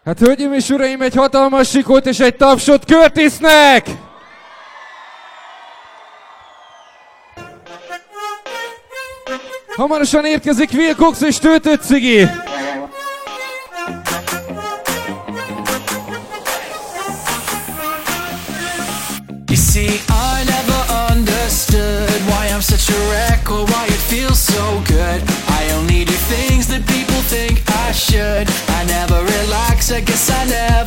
Hát hölgyeim és uraim, egy hatalmas sikót és egy tapsot Curtisnek! Hamarosan érkezik Will Cox és Töltött Cigi! You see, I never understood why I'm such a wreck or why it feels so good. I only do things that people think I should. I never relax, I guess I never